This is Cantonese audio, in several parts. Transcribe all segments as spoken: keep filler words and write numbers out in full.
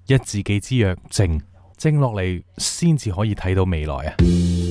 一字記之曰靜，靜落嚟先至可以睇到未來啊！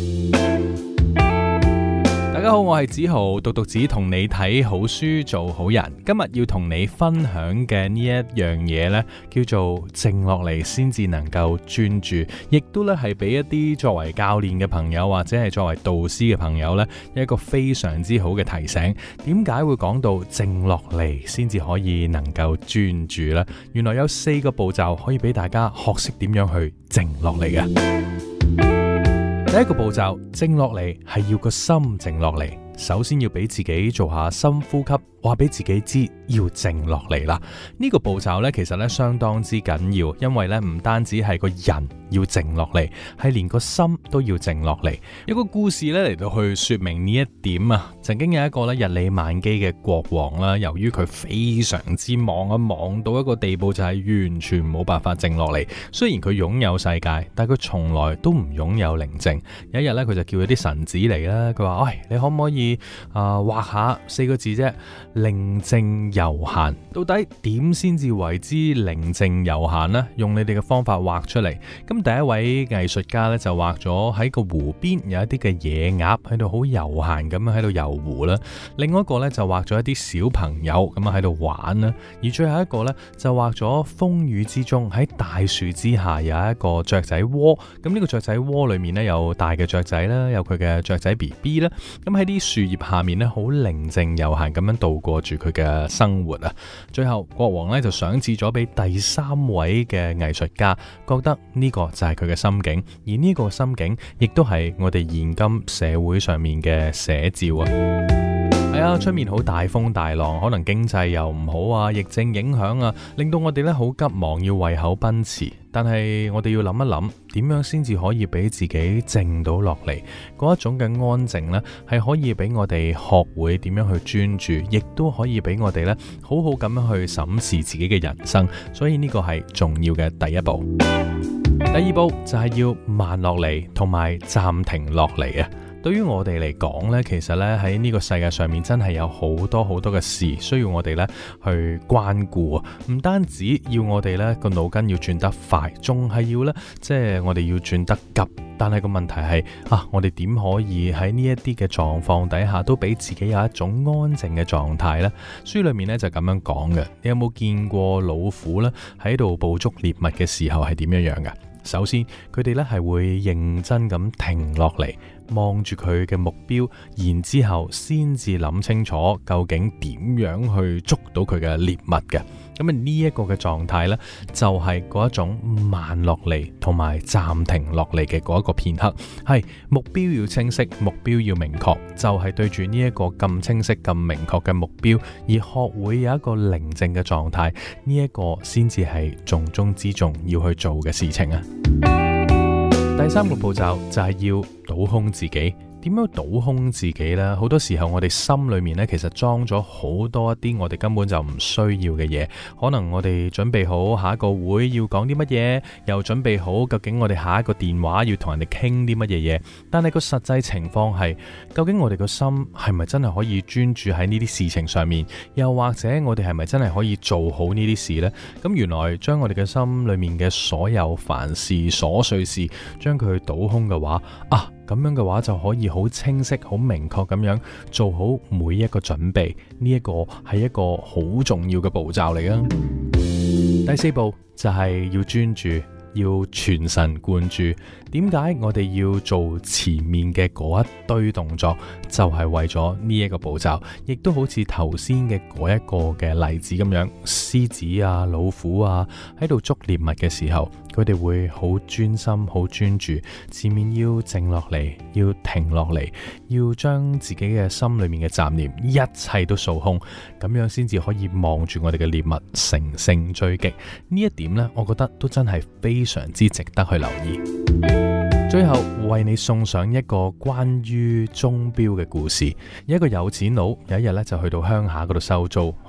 大家好，我係梓豪，獨讀子同你睇好書做好人。今日要同你分享嘅呢一樣嘢呢，叫做靜落嚟先至能夠專注，亦都咧係俾一啲作為教練嘅朋友或者係作為導師嘅朋友呢，一個非常之好嘅提醒。點解會講到靜落嚟先至可以能夠專注呢？原來有四個步驟可以俾大家學識點樣去靜落嚟嘅。第一個步驟，靜落嚟係要個心靜落嚟。首先要俾自己做下深呼吸，話俾自己知要靜落嚟啦。呢個步驟呢，其實呢相當之緊要，因為呢唔單止係個人要靜落嚟，係連個心都要靜落嚟。有個故事呢嚟到去說明呢一點啊。曾經有一個呢日理萬機嘅國王啦，由於佢非常之忙啊，忙到一個地步就係完全冇辦法靜落嚟。雖然佢擁有世界，但係佢從來都唔擁有寧靜。有一日呢，佢就叫咗啲臣子嚟啦，佢話：喂，你可唔可以啊畫下四個字啫？寧靜悠閒。到底點先至為之寧靜悠閒呢？用你哋嘅方法畫出嚟。咁第一位藝術家咧就畫咗喺個湖邊有一啲嘅野鴨喺度好悠閒咁樣喺度遊湖啦。另外一個咧就畫咗一啲小朋友咁樣喺度玩啦。而最後一個咧就畫咗風雨之中喺大樹之下有一個雀仔窩。咁呢個雀仔窩裏面咧有大嘅雀仔啦，有佢嘅雀仔 B B 啦。咁喺啲樹葉下面咧好寧靜悠閒咁樣度過住佢嘅生活啊！最後國王咧就賞賜咗俾第三位嘅藝術家，覺得呢個就係佢嘅心境，而呢個心境亦都係我哋現今社會上面嘅寫照啊！係啊，出面好大風大浪，可能經濟又唔好啊，疫症影響啊，令到我哋咧好急忙要為口奔馳。但係我哋要諗一諗，點樣先至可以俾自己靜到落嚟？嗰一種嘅安靜呢，係可以俾我哋學會點樣去專注，亦都可以俾我哋咧好好咁樣去審視自己嘅人生。所以呢個係重要嘅第一步。第二步就係要慢落嚟，同埋暫停落嚟啊！對於我哋嚟講呢，其實呢喺呢個世界上面真係有好多好多嘅事需要我哋呢去關顧啊！唔單止要我哋呢個腦筋要轉得快，仲係要呢，即係我哋要轉得急。但係個問題係啊，我哋點可以喺呢一啲嘅狀況底下都俾自己有一種安靜嘅狀態呢？書裏面呢就咁樣講嘅。你有冇見過老虎呢喺度捕捉獵物嘅時候係點樣樣㗎？首先，佢哋咧係會認真咁停落嚟，望住佢嘅目標，然之後先至諗清楚究竟點樣去捉到佢嘅獵物嘅。咁啊呢一個嘅狀態呢，就係嗰一種慢落嚟同埋暫停落嚟嘅嗰一個片刻，係目標要清晰，目標要明確，就係對住呢一個咁清晰、咁明確嘅目標，而學會有一個寧靜嘅狀態，呢一個先至係重中之重要去做嘅事情啊！第三個步驟就係要倒空自己。點樣倒空自己呢？好多時候我哋心裏面呢，其實裝咗好多一啲我哋根本就唔需要嘅嘢。可能我哋準備好下一個會要講啲乜嘢，又準備好究竟我哋下一個電話要同人哋傾啲乜嘢嘢。但係個實際情況係，究竟我哋個心係咪真係可以專注喺呢啲事情上面？又或者我哋係咪真係可以做好呢啲事呢？咁原來將我哋嘅心裏面嘅所有煩事、瑣碎事，將佢倒空嘅話啊！咁樣嘅話就可以好清晰、好明確咁樣做好每一個準備，呢一個係一個好重要嘅步驟嚟啊！第四步就係要專注，要全神貫注。點解我哋要做前面嘅嗰一堆動作？就係為咗呢一個步驟，亦都好似頭先嘅嗰一個嘅例子咁樣，獅子啊、老虎啊喺度捉獵物嘅時候，佢哋會好專心、好專注，前面要靜落嚟，要停落嚟，要將自己嘅心裏面嘅雜念一切都掃空，咁樣先至可以望住我哋嘅獵物乘勝追擊。呢一點呢，我覺得都真係非常之值得去留意。最後為你送上一個關於鐘錶嘅故事。一個有錢佬有一日咧就去到鄉下嗰度收租，好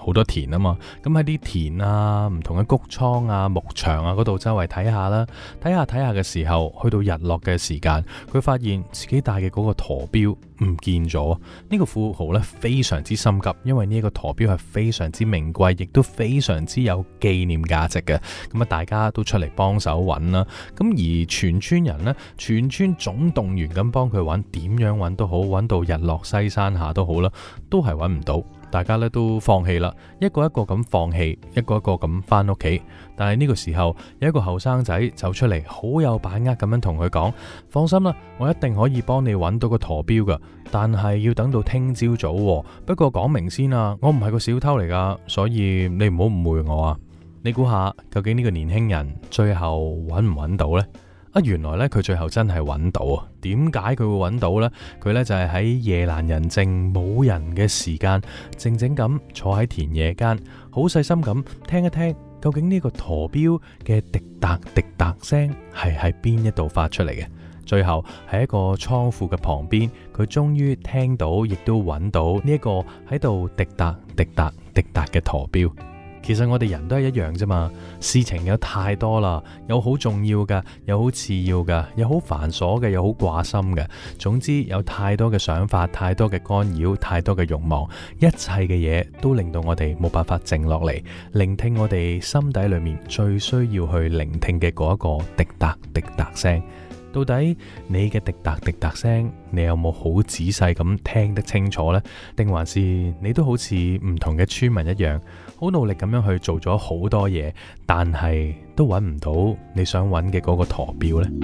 好多田啊嘛，咁喺啲田啊、唔同嘅穀倉啊、牧場啊嗰度周圍睇下啦，睇下睇下嘅時候，去到日落嘅時間，佢發現自己帶嘅嗰個陀錶唔見咗。呢個富豪呢非常之心急，因為呢一個陀錶係非常之名貴，亦都非常之有紀念價值嘅。咁啊，大家都出嚟幫手揾啦。咁而全村人呢，全村總動員咁幫佢揾，點樣揾都好，揾到日落西山下都好啦，都係揾唔到。大家咧都放棄啦，一個一個咁放棄，一個一個咁翻屋企。但係呢個時候有一個後生仔走出嚟，好有把握咁樣同佢講：放心啦，我一定可以幫你揾到個陀錶噶，但係要等到聽朝早喎。不過講明先啊，我唔係個小偷嚟噶，所以你唔好誤會我啊。你估下究竟呢個年輕人最後揾唔揾到呢？啊，原來咧佢最後真係揾到啊！點解佢會揾到呢？佢咧就係喺夜闌人靜冇人嘅時間，靜靜咁坐喺田野間，好細心咁聽一聽，究竟呢個陀錶嘅滴答滴答聲係喺邊一度發出嚟嘅？最後喺一個倉庫嘅旁邊，佢終於聽到，亦都揾到呢一個喺度滴答滴答滴答嘅陀錶。其實我哋人都係一樣啫嘛，事情有太多啦，有好重要嘅，有好次要嘅，有好繁瑣嘅，有好掛心嘅。總之有太多嘅想法，太多嘅干擾，太多嘅慾望，一切嘅嘢都令到我哋冇辦法靜落嚟，聆聽我哋心底裏面最需要去聆聽嘅嗰一個滴答滴答聲。到底你嘅滴答滴答聲，你有冇好仔細咁聽得清楚呢？定還是你都好似唔同嘅村民一樣，好努力咁樣去做咗好多嘢，但係都揾唔到你想揾嘅嗰個陀錶呢？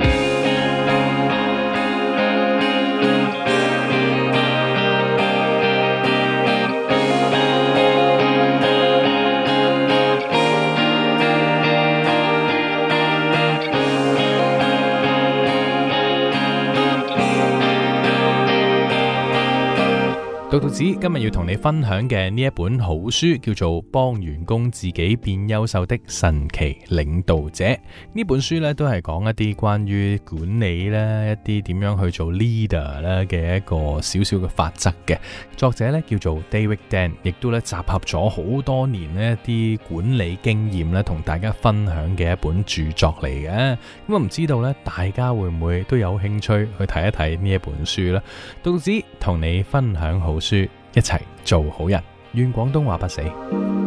獨讀子今日要同你分享嘅呢一本好書叫做《幫員工自己變優秀的神奇領導者》。呢本書咧都係講一啲關於管理咧，一啲點樣去做 leader 咧嘅一個小小嘅法則嘅。作者咧叫做 David Dan， 亦都咧集合咗好多年呢一啲管理經驗咧，同大家分享嘅一本著作嚟嘅。咁我唔知道咧，大家會唔會都有興趣去睇一睇呢一本書咧？獨讀子同你分享好書，一齊做好人，願廣東話不死。